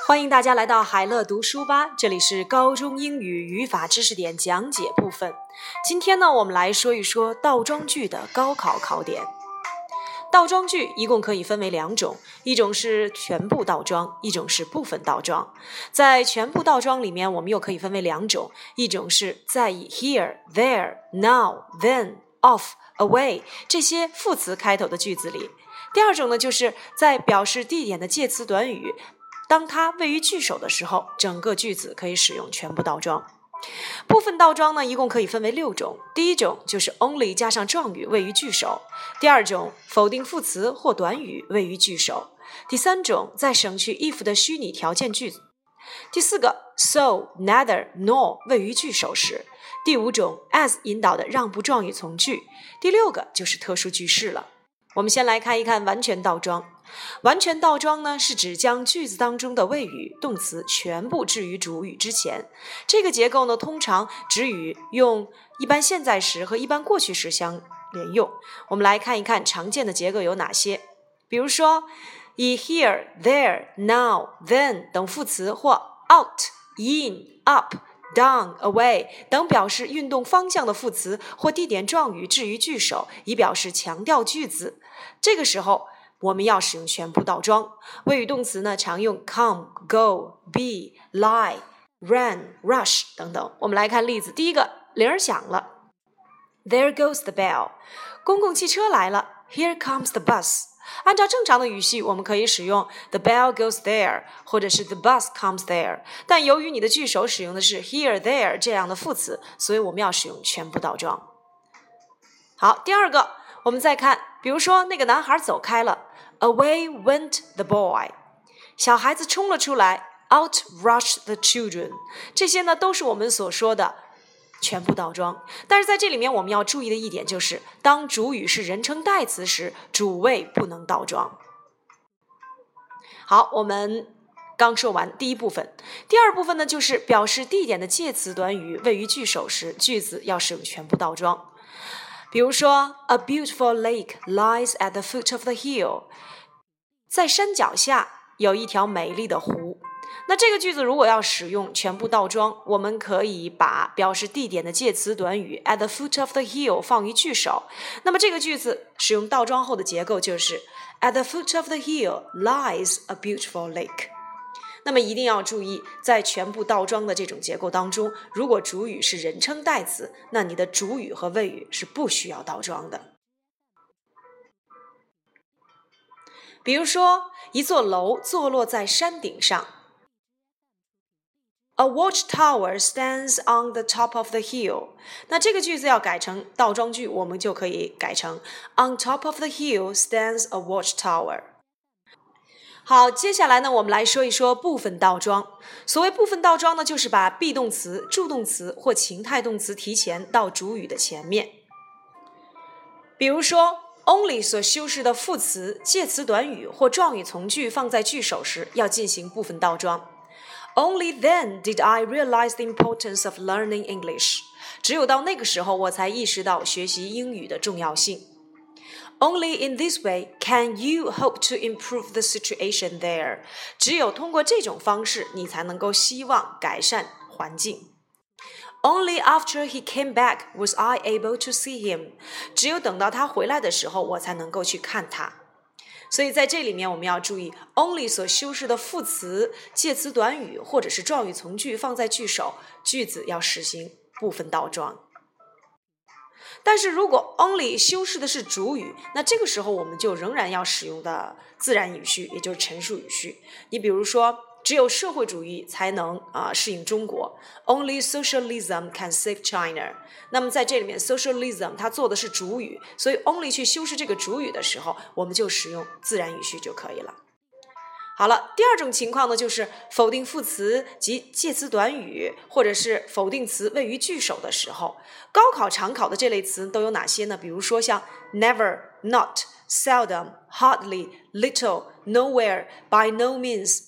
欢迎大家来到海乐读书吧，这里是高中英语语法知识点讲解部分。今天呢，我们来说一说倒装句的高考考点。倒装句一共可以分为两种，一种是全部倒装，一种是部分倒装。在全部倒装里面，我们又可以分为两种，一种是在以 here, there, now, then, off, away 这些副词开头的句子里。第二种呢，就是在表示地点的介词短语当它位于句首的时候，整个句子可以使用全部倒装。部分倒装呢，一共可以分为6种。第一种就是 only 加上状语位于句首。第二种，否定副词或短语位于句首。第三种，在省去 if 的虚拟条件句子。第四个 so, neither, nor 位于句首时。第五种 as 引导的让步状语从句。第六个就是特殊句式了。我们先来看一看完全倒装。完全倒装呢，是指将句子当中的谓语、动词全部置于主语之前。这个结构呢，通常只与用一般现在时和一般过去时相连用。我们来看一看常见的结构有哪些。比如说，以 here, there, now, then 等副词或 out, in, up, down, away 等表示运动方向的副词或地点状语置于句首，以表示强调句子。这个时候我们要使用全部倒装。谓语动词呢，常用 come, go, be, lie, run, rush 等等。我们来看例子。第一个，铃儿响了 There goes the bell。 公共汽车来了 Here comes the bus。 按照正常的语序，我们可以使用 the bell goes there 或者是 the bus comes there， 但由于你的句首使用的是 here, there 这样的副词，所以我们要使用全部倒装。好，第二个，我们再看，比如说那个男孩走开了Away went the boy。 小孩子冲了出来 Out rushed the children。 这些呢都是我们所说的全部倒装。但是在这里面我们要注意的一点就是，当主语是人称代词时，主谓不能倒装。好，我们刚说完第一部分。第二部分呢，就是表示地点的介词短语位于句首时，句子要使用全部倒装。比如说 A beautiful lake lies at the foot of the hill。 在山脚下有一条美丽的湖。那这个句子如果要使用全部倒装，我们可以把表示地点的介词短语 at the foot of the hill 放于句首。那么这个句子使用倒装后的结构就是 At the foot of the hill lies a beautiful lake。那么一定要注意，在全部倒装的这种结构当中，如果主语是人称代词，那你的主语和谓语是不需要倒装的。比如说，一座楼坐落在山顶上 A watchtower stands on the top of the hill。 那这个句子要改成倒装句，我们就可以改成 On top of the hill stands a watchtower。好，接下来呢，我们来说一说部分倒装。所谓部分倒装呢，就是把 be 动词、助动词或情态动词提前到主语的前面。比如说 only 所修饰的副词、介词短语或状语从句放在句首时，要进行部分倒装。Only then did I realize the importance of learning English。 只有到那个时候，我才意识到学习英语的重要性。Only in this way can you hope to improve the situation there。 只有通过这种方式，你才能够希望改善环境。Only after he came back was I able to see him。 只有等到他回来的时候，我才能够去看他。所以在这里面我们要注意 only 所修饰的副词、介词短语或者是状语从句放在句首，句子要实行部分倒装。但是如果 only 修饰的是主语，那这个时候我们就仍然要使用的自然语序，也就是陈述语序。你比如说，只有社会主义才能适应中国 Only socialism can save China。 那么在这里面 socialism 它做的是主语，所以 only 去修饰这个主语的时候，我们就使用自然语序就可以了。好了，第二种情况呢，就是否定副词及介词短语或者是否定词位于句首的时候。高考常考的这类词都有哪些呢？比如说像 never, not, seldom, hardly, little, nowhere, by no means。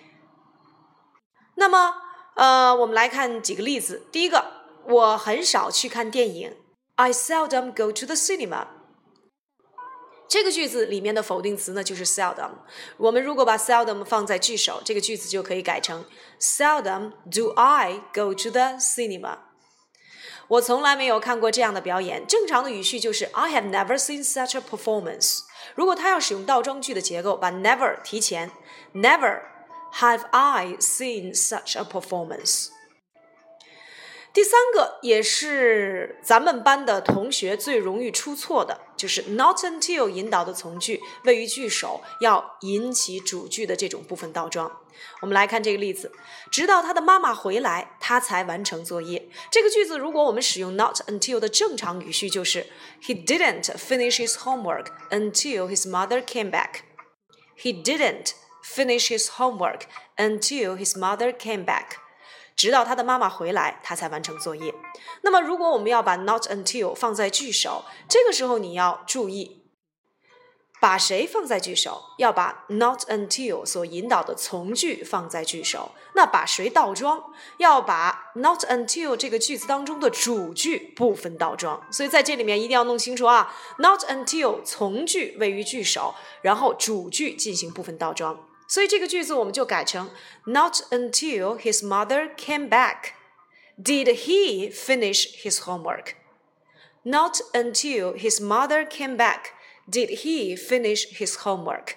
那么我们来看几个例子。第一个，我很少去看电影 I seldom go to the cinema。 这个句子里面的否定词呢就是 seldom， 我们如果把 seldom 放在句首，这个句子就可以改成 Seldom do I go to the cinema。 我从来没有看过这样的表演。正常的语序就是 I have never seen such a performance。 如果他要使用倒装句的结构，把 never 提前， Never have I seen such a performance。第三个也是咱们班的同学最容易出错的，就是 not until 引导的从句位于句首，要引起主句的这种部分倒装。我们来看这个例子，直到他的妈妈回来，他才完成作业。这个句子如果我们使用 not until 的正常语序，就是 He didn't finish his homework until his mother came back. He didn't finish his homework until his mother came back.直到他的妈妈回来，他才完成作业。那么如果我们要把 not until 放在句首，这个时候你要注意把谁放在句首，要把 not until 所引导的从句放在句首。那把谁倒装，要把 not until 这个句子当中的主句部分倒装。所以在这里面一定要弄清楚啊， not until 从句位于句首，然后主句进行部分倒装。所以这个句子我们就改成 Not until his mother came back did he finish his homework. Not until his mother came back did he finish his homework.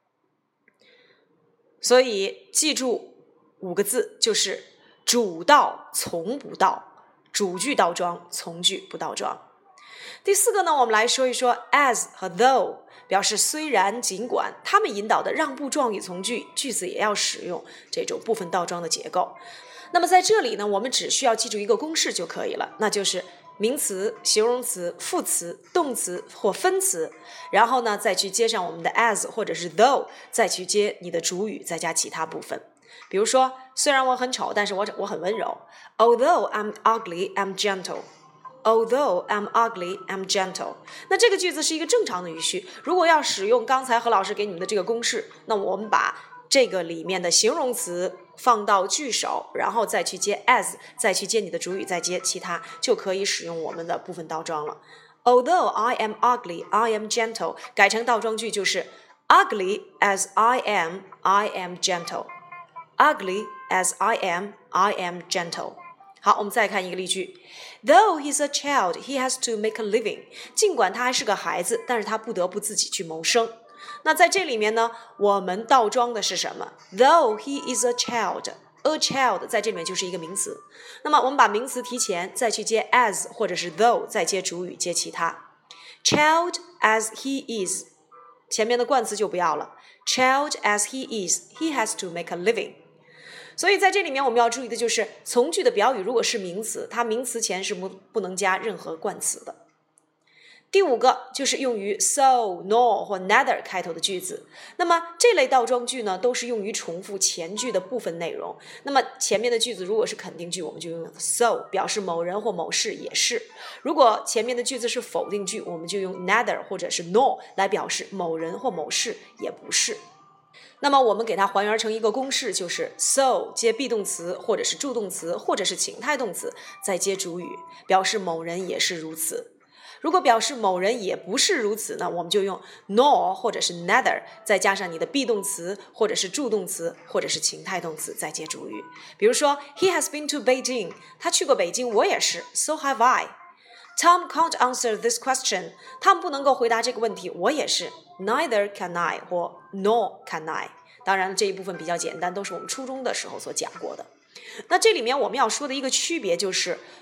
所以记住5个字，就是主倒从不倒，主句倒装，从句不倒装。第4个呢，我们来说一说 as 和 though， 表示虽然尽管，它们引导的让步状语从句，句子也要使用这种部分倒装的结构。那么在这里呢，我们只需要记住一个公式就可以了，那就是名词、形容词、副词、动词或分词，然后呢再去接上我们的 as 或者是 though， 再去接你的主语，再加其他部分。比如说，虽然我很丑，但是我很温柔。Although I'm ugly, I'm gentle.Although I'm ugly, I'm gentle. 那这个句子是一个正常的语序。如果要使用刚才何老师给你们的这个公式，那我们把这个里面的形容词放到句首，然后再去接 as， 再去接你的主语，再接其他，就可以使用我们的部分倒装了。Although I am ugly, I am gentle. 改成倒装句就是 Ugly as I am gentle. Ugly as I am gentle.好，我们再看一个例句 Though he's a child, he has to make a living. 尽管他还是个孩子，但是他不得不自己去谋生。那在这里面呢，我们倒装的是什么？ Though he is a child, a child 在这里面就是一个名词。那么我们把名词提前，再去接 as 或者是 though， 再接主语，接其他。Child as he is， 前面的冠词就不要了。Child as he is, he has to make a living.所以在这里面我们要注意的就是从句的表语如果是名词，它名词前是不能加任何冠词的。第5个就是用于 so, nor 或 neither 开头的句子。那么这类倒装句呢，都是用于重复前句的部分内容。那么前面的句子如果是肯定句，我们就用 so 表示某人或某事也是。如果前面的句子是否定句，我们就用 neither 或者是 nor 来表示某人或某事也不是。那么我们给它还原成一个公式，就是 so 接 be 动词或者是助动词或者是情态动词，再接主语，表示某人也是如此。如果表示某人也不是如此呢，我们就用 nor 或者是 neither， 再加上你的 be 动词或者是助动词或者是情态动词，再接主语。比如说 He has been to Beijing， 他去过北京，我也是 So have I。Tom can't answer this question. Tom 不能够回答这个问题，我也是 Neither can I 或 Nor can I。 当然这一部分比较简单，都是我们初中的时候所讲过的。那这里面我们要说的一个区别就是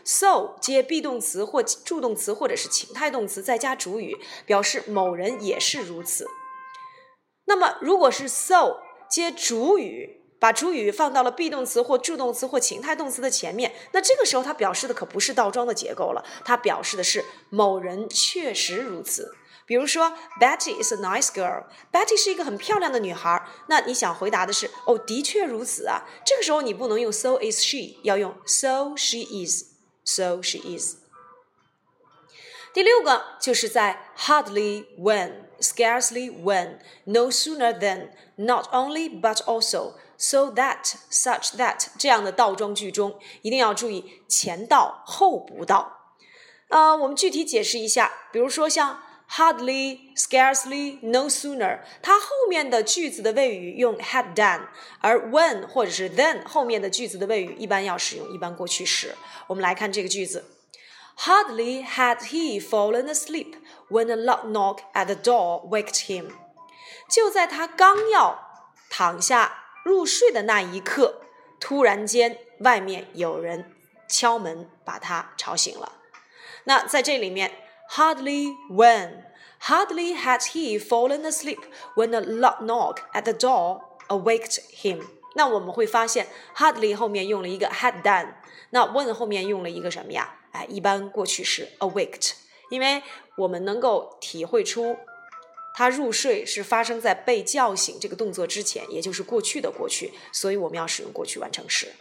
so 接 be 动词或助动词或者是情态动词再加主语，表示某人也是如此。那么如果是 so 接主语，把主语放到了 be 动词或助动词或情态动词的前面，那这个时候它表示的可不是倒装的结构了，它表示的是某人确实如此。比如说 Betty is a nice girl， Betty 是一个很漂亮的女孩，那你想回答的是的确如此啊，这个时候你不能用 so is she， 要用 so she is， so she is。 第6个就是在 hardly when, scarcely when, no sooner than, not only but also, so that, such that 这样的倒装句中，一定要注意前到后不到。我们具体解释一下，比如说像 hardly, scarcely, no sooner， 它后面的句子的谓语用 had done， 而 when 或者是 then 后面的句子的谓语一般要使用一般过去时。我们来看这个句子 Hardly had he fallen asleep when a loud knock at the door waked him。 就在他刚要躺下入睡的那一刻，突然间外面有人敲门把他吵醒了。那在这里面 hardly hardly had he fallen asleep when a loud knock at the door awaked him。 那我们会发现 hardly 后面用了一个 had done， 那 when 后面用了一个什么呀？一般过去时 awaked， 因为我们能够体会出他入睡是发生在被叫醒这个动作之前，也就是过去的过去，所以我们要使用过去完成时。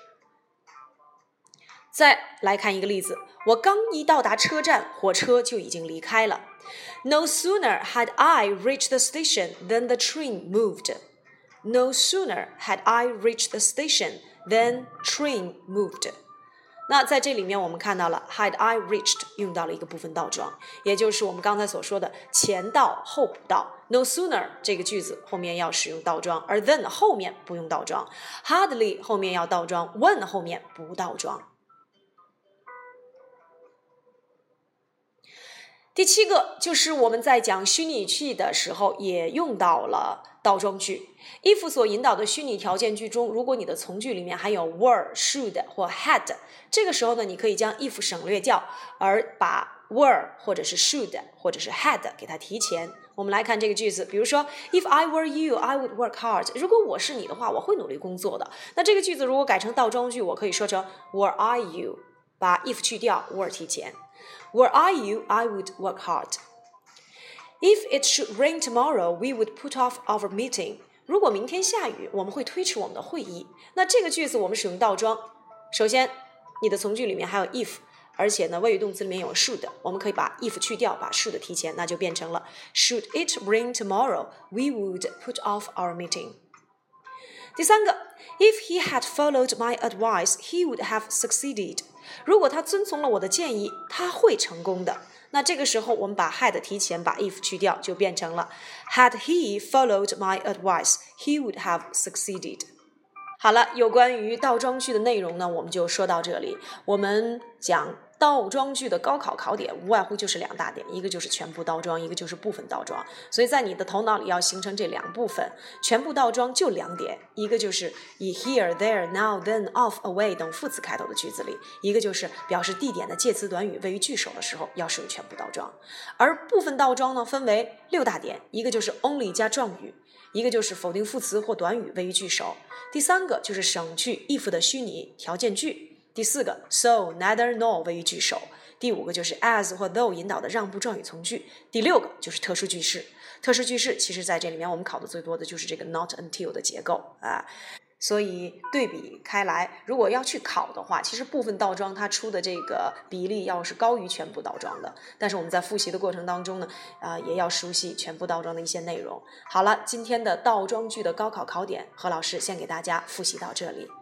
再来看一个例子，我刚一到达车站，火车就已经离开了。No sooner had I reached the station than the train moved. No sooner had I reached the station than train moved. 那在这里面我们看到了 had I reached 用到了一个部分倒装，也就是我们刚才所说的前到后补到。No sooner 这个句子后面要使用倒装，而 then 后面不用倒装， hardly 后面要倒装， when 后面不倒装。第7个就是我们在讲虚拟语气的时候也用到了倒装句。if 所引导的虚拟条件句中，如果你的从句里面含有 were, should 或 had， 这个时候呢，你可以将 if 省略掉，而把 were 或者是 should 或者是 had 给它提前。我们来看这个句子，比如说 If I were you, I would work hard。 如果我是你的话，我会努力工作的。那这个句子如果改成倒装句，我可以说成 Were I you， 把 if 去掉， were 提前。Were I you, I would work hard. If it should rain tomorrow, we would put off our meeting. 如果明天下雨，我们会推迟我们的会议。那这个句子我们使用倒装。首先，你的从句里面还有 if， 而且呢，谓语动词里面有 should， 我们可以把 if 去掉，把 should 提前，那就变成了 Should it rain tomorrow, we would put off our meeting. 第3个 If he had followed my advice, he would have succeeded. 如果他遵从了我的建议，他会成功的。那这个时候我们把 had 提前，把 if 去掉，就变成了 Had he followed my advice, he would have succeeded. 好了，有关于倒装句的内容呢，我们就说到这里。我们讲倒装句的高考考点无外乎就是2大点，一个就是全部倒装，一个就是部分倒装。所以在你的头脑里要形成这2部分。全部倒装就2点，一个就是以 here, there, now, then, of, away 等副词开头的句子里，一个就是表示地点的介词短语谓于句首的时候要使用全部倒装。而部分倒装呢，分为6大点，一个就是 only 加状语，一个就是否定副词或短语谓于句首，第3个就是省去 if 的虚拟条件句，第4个 so, neither, nor 谓于句首，第5个就是 as 或 though 引导的让步状语从句，第6个就是特殊句式。特殊句式其实在这里面我们考的最多的就是这个 not until 的结构啊。所以对比开来，如果要去考的话，其实部分倒装它出的这个比例要是高于全部倒装的。但是我们在复习的过程当中呢，也要熟悉全部倒装的一些内容。好了，今天的倒装句的高考考点，何老师先给大家复习到这里。